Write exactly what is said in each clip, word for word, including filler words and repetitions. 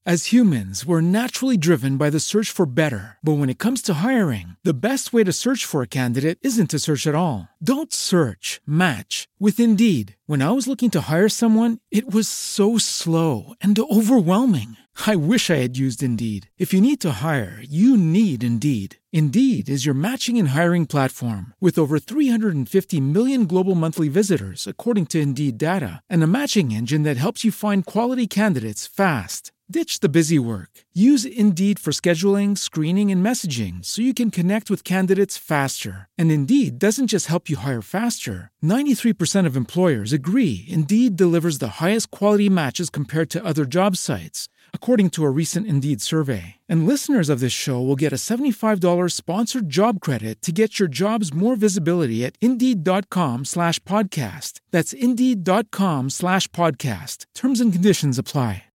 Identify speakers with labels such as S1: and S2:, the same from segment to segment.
S1: As humans, we're naturally driven by the search for better. But when it comes to hiring, the best way to search for a candidate isn't to search at all. Don't search, match with Indeed. When I was looking to hire someone, it was so slow and overwhelming. I wish I had used Indeed. If you need to hire, you need Indeed. Indeed is your matching and hiring platform with over three hundred fifty million global monthly visitors, according to Indeed data, and a matching engine that helps you find quality candidates fast. Ditch the busy work. Use Indeed for scheduling, screening, and messaging so you can connect with candidates faster. And Indeed doesn't just help you hire faster. ninety-three percent of employers agree Indeed delivers the highest quality matches compared to other job sites, according to a recent Indeed survey. And listeners of this show will get a seventy-five dollars sponsored job credit to get your jobs more visibility at Indeed.com slash podcast. That's Indeed.com slash podcast. Terms and conditions apply.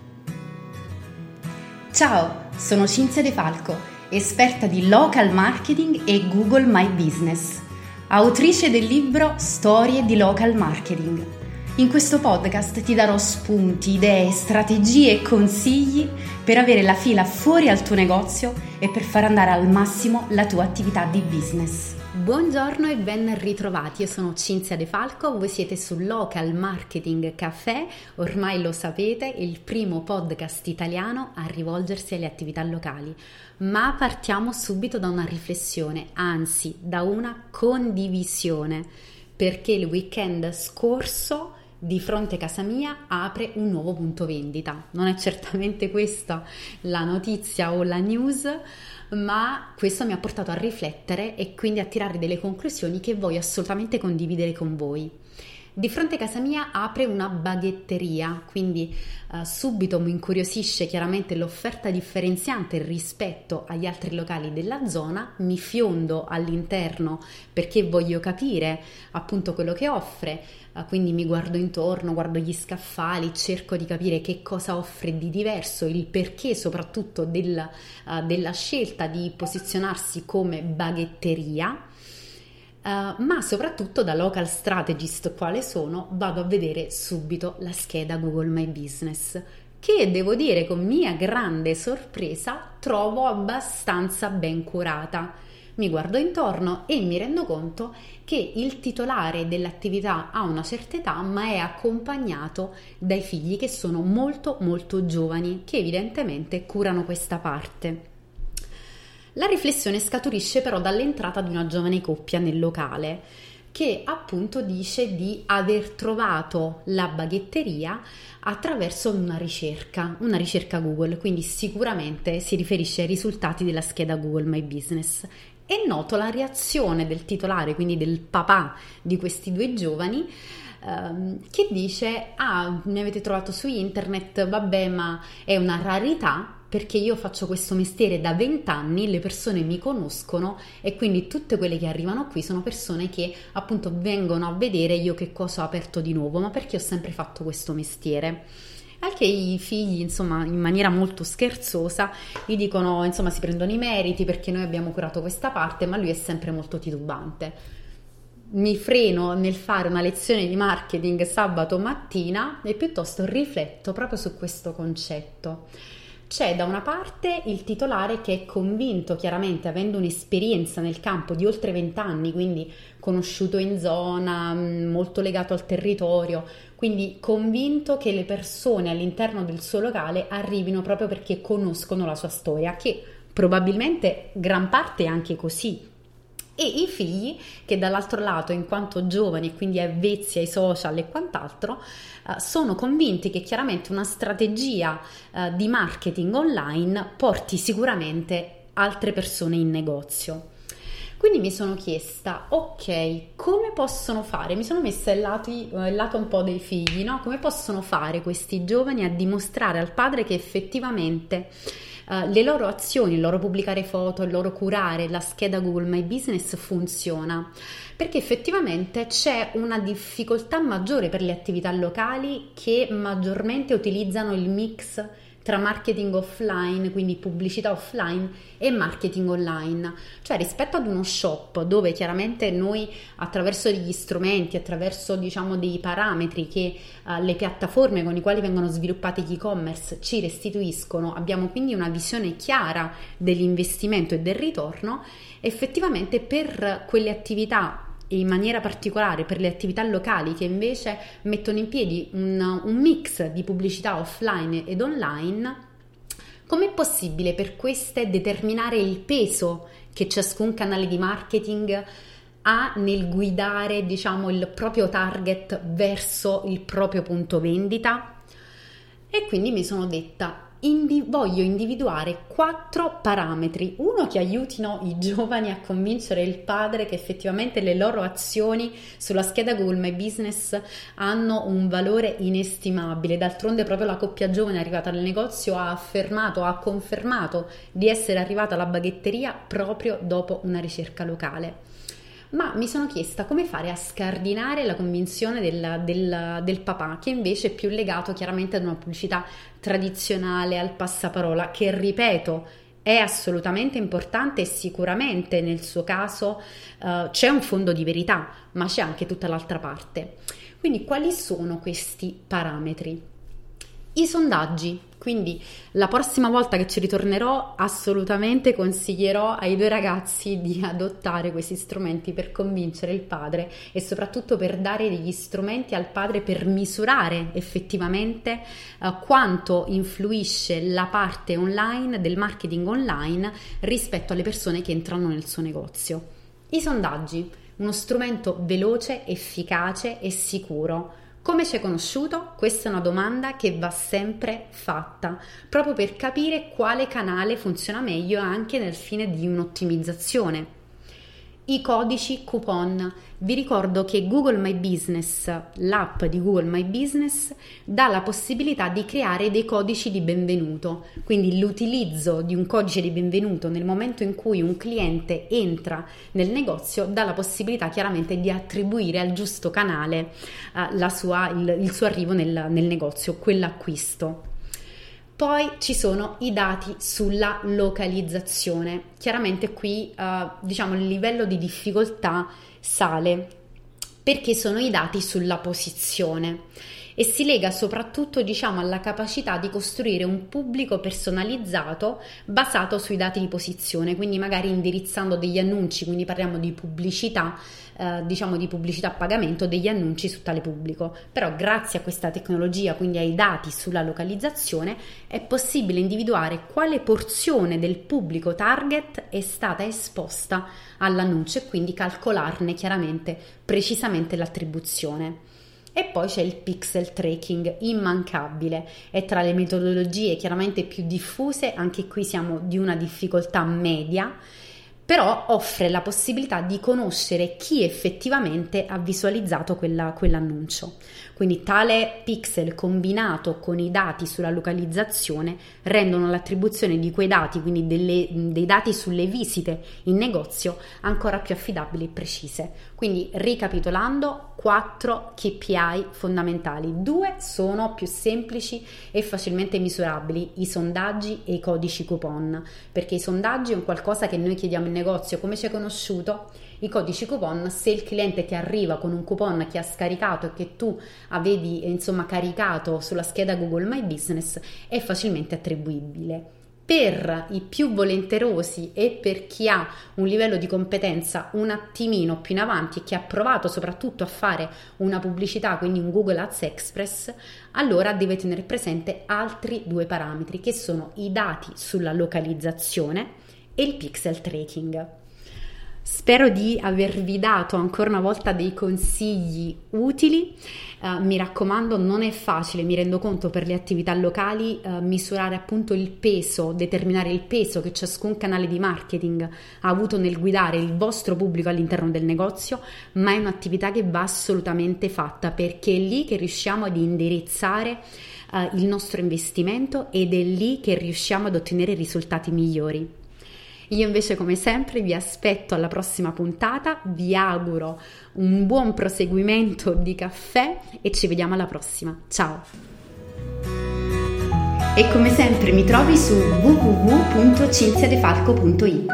S2: Ciao, sono Cinzia De Falco, esperta di local marketing e Google My Business, autrice del libro Storie di local marketing. In questo podcast ti darò spunti, idee, strategie e consigli per avere la fila fuori al tuo negozio e per far andare al massimo la tua attività di business. Buongiorno e ben ritrovati, io sono Cinzia De Falco, voi siete sul Local Marketing Café, ormai lo sapete, il primo podcast italiano a rivolgersi alle attività locali. Ma partiamo subito da una riflessione, anzi da una condivisione, perché il weekend scorso di fronte a casa mia apre un nuovo punto vendita. Non è certamente questa la notizia o la news, ma questo mi ha portato a riflettere e quindi a tirare delle conclusioni che voglio assolutamente condividere con voi. Di fronte a casa mia apre una baghetteria, quindi uh, subito mi incuriosisce chiaramente l'offerta differenziante rispetto agli altri locali della zona, mi fiondo all'interno perché voglio capire appunto quello che offre, uh, quindi mi guardo intorno, guardo gli scaffali, cerco di capire che cosa offre di diverso, il perché soprattutto del, uh, della scelta di posizionarsi come baghetteria. Uh, ma soprattutto da local strategist quale sono vado a vedere subito la scheda Google My Business che devo dire con mia grande sorpresa trovo abbastanza ben curata. Mi guardo intorno e mi rendo conto che il titolare dell'attività ha una certa età ma è accompagnato dai figli che sono molto molto giovani che evidentemente curano questa parte. La riflessione scaturisce però dall'entrata di una giovane coppia nel locale che appunto dice di aver trovato la baghetteria attraverso una ricerca, una ricerca Google, quindi sicuramente si riferisce ai risultati della scheda Google My Business. E noto la reazione del titolare, quindi del papà di questi due giovani, ehm, che dice: ah, mi avete trovato su internet, vabbè, ma è una rarità, perché io faccio questo mestiere da vent'anni, le persone mi conoscono e quindi tutte quelle che arrivano qui sono persone che appunto vengono a vedere io che cosa ho aperto di nuovo, ma perché ho sempre fatto questo mestiere. Al che i figli, insomma, in maniera molto scherzosa, gli dicono, insomma, si prendono i meriti perché noi abbiamo curato questa parte, ma lui è sempre molto titubante. Mi freno nel fare una lezione di marketing sabato mattina e piuttosto rifletto proprio su questo concetto. C'è da una parte il titolare che è convinto, chiaramente avendo un'esperienza nel campo di oltre vent'anni, quindi conosciuto in zona, molto legato al territorio, quindi convinto che le persone all'interno del suo locale arrivino proprio perché conoscono la sua storia, che probabilmente gran parte è anche così. E i figli che dall'altro lato, in quanto giovani e quindi avvezzi ai social e quant'altro, eh, sono convinti che chiaramente una strategia eh, di marketing online porti sicuramente altre persone in negozio. Quindi mi sono chiesta, ok, come possono fare? Mi sono messa il lato, il lato un po' dei figli, no? Come possono fare questi giovani a dimostrare al padre che effettivamente Uh, le loro azioni, il loro pubblicare foto, il loro curare la scheda Google My Business funziona, perché effettivamente c'è una difficoltà maggiore per le attività locali che maggiormente utilizzano il mix tra marketing offline, quindi pubblicità offline, e marketing online. Cioè, rispetto ad uno shop dove chiaramente noi attraverso degli strumenti, attraverso diciamo dei parametri che uh, le piattaforme con i quali vengono sviluppati gli e-commerce ci restituiscono, abbiamo quindi una visione chiara dell'investimento e del ritorno. Effettivamente per quelle attività, e in maniera particolare per le attività locali che invece mettono in piedi un, un mix di pubblicità offline ed online, com'è possibile per queste determinare il peso che ciascun canale di marketing ha nel guidare, diciamo, il proprio target verso il proprio punto vendita? E quindi mi sono detta: Indi- voglio individuare quattro parametri, uno che aiutino i giovani a convincere il padre che effettivamente le loro azioni sulla scheda Google My Business hanno un valore inestimabile. D'altronde proprio la coppia giovane arrivata nel negozio ha affermato, ha confermato di essere arrivata alla baghetteria proprio dopo una ricerca locale. Ma mi sono chiesta come fare a scardinare la convinzione del, del, del papà, che invece è più legato chiaramente ad una pubblicità tradizionale, al passaparola, che ripeto è assolutamente importante e sicuramente nel suo caso uh, c'è un fondo di verità, ma c'è anche tutta l'altra parte. Quindi quali sono questi parametri? I sondaggi. Quindi la prossima volta che ci ritornerò assolutamente consiglierò ai due ragazzi di adottare questi strumenti per convincere il padre e soprattutto per dare degli strumenti al padre per misurare effettivamente uh, quanto influisce la parte online del marketing online rispetto alle persone che entrano nel suo negozio. I sondaggi, uno strumento veloce, efficace e sicuro. Come ci hai conosciuto? Questa è una domanda che va sempre fatta, proprio per capire quale canale funziona meglio anche nel fine di un'ottimizzazione. I codici coupon. Vi ricordo che Google My Business, l'app di Google My Business, dà la possibilità di creare dei codici di benvenuto, quindi l'utilizzo di un codice di benvenuto nel momento in cui un cliente entra nel negozio dà la possibilità chiaramente di attribuire al giusto canale uh, la sua, il, il suo arrivo nel, nel negozio, quell'acquisto. Poi ci sono i dati sulla localizzazione. Chiaramente qui eh, diciamo il livello di difficoltà sale perché sono i dati sulla posizione e si lega soprattutto diciamo alla capacità di costruire un pubblico personalizzato basato sui dati di posizione, quindi magari indirizzando degli annunci, quindi parliamo di pubblicità, eh, diciamo di pubblicità a pagamento, degli annunci su tale pubblico. Però grazie a questa tecnologia, quindi ai dati sulla localizzazione, è possibile individuare quale porzione del pubblico target è stata esposta all'annuncio e quindi calcolarne chiaramente precisamente l'attribuzione. E poi c'è il pixel tracking, immancabile, è tra le metodologie chiaramente più diffuse, anche qui siamo di una difficoltà media, però offre la possibilità di conoscere chi effettivamente ha visualizzato quella, quell'annuncio. Quindi tale pixel combinato con i dati sulla localizzazione rendono l'attribuzione di quei dati, quindi delle, dei dati sulle visite in negozio, ancora più affidabili e precise. Quindi ricapitolando, quattro K P I fondamentali. Due sono più semplici e facilmente misurabili, i sondaggi e i codici coupon, perché i sondaggi è un qualcosa che noi chiediamo in negozio: come ci hai conosciuto? I codici coupon, se il cliente ti arriva con un coupon che ha scaricato e che tu avevi insomma caricato sulla scheda Google My Business, è facilmente attribuibile. Per i più volenterosi e per chi ha un livello di competenza un attimino più in avanti e che ha provato soprattutto a fare una pubblicità, quindi un Google Ads Express, allora deve tenere presente altri due parametri che sono i dati sulla localizzazione e il pixel tracking. Spero di avervi dato ancora una volta dei consigli utili. Uh, mi raccomando, non è facile, mi rendo conto, per le attività locali uh, misurare appunto il peso, determinare il peso che ciascun canale di marketing ha avuto nel guidare il vostro pubblico all'interno del negozio, ma è un'attività che va assolutamente fatta, perché è lì che riusciamo ad indirizzare uh, il nostro investimento ed è lì che riusciamo ad ottenere risultati migliori. Io invece, come sempre, vi aspetto alla prossima puntata, vi auguro un buon proseguimento di caffè e ci vediamo alla prossima. Ciao! E come sempre mi trovi su w w w punto cinziadefalco punto it.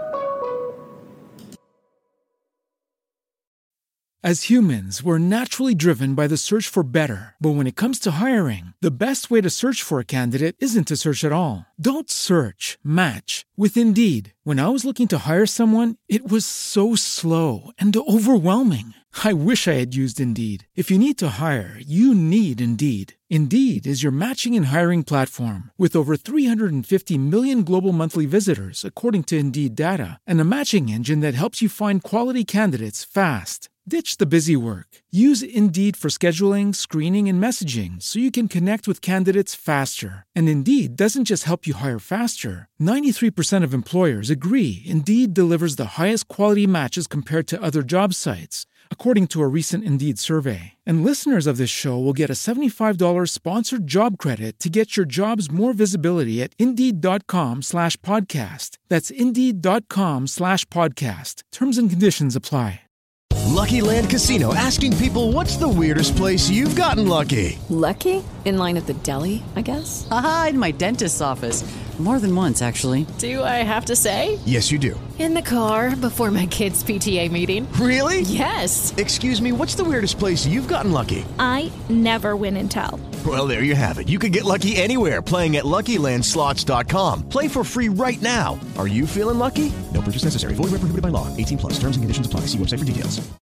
S1: As humans, we're naturally driven by the search for better. But when it comes to hiring, the best way to search for a candidate isn't to search at all. Don't search, match with Indeed. When I was looking to hire someone, it was so slow and overwhelming. I wish I had used Indeed. If you need to hire, you need Indeed. Indeed is your matching and hiring platform with over three hundred fifty million global monthly visitors, according to Indeed data, and a matching engine that helps you find quality candidates fast. Ditch the busy work. Use Indeed for scheduling, screening, and messaging so you can connect with candidates faster. And Indeed doesn't just help you hire faster. ninety-three percent of employers agree Indeed delivers the highest quality matches compared to other job sites, according to a recent Indeed survey. And listeners of this show will get a seventy-five dollars sponsored job credit to get your jobs more visibility at Indeed.com slash podcast. That's Indeed.com slash podcast. Terms and conditions apply.
S3: Lucky Land Casino, asking people, what's the weirdest place you've gotten lucky?
S4: Lucky? In line at the deli, I guess?
S5: Aha, in my dentist's office. More than once, actually.
S4: Do I have to say?
S3: Yes, you do.
S4: In the car before my kids' P T A meeting.
S3: Really?
S4: Yes.
S3: Excuse me, what's the weirdest place you've gotten lucky?
S6: I never win and tell.
S3: Well, there you have it. You can get lucky anywhere, playing at Lucky Land Slots dot com. Play for free right now. Are you feeling lucky? No purchase necessary. Void where prohibited by law. eighteen plus. Terms and conditions apply. See website for details.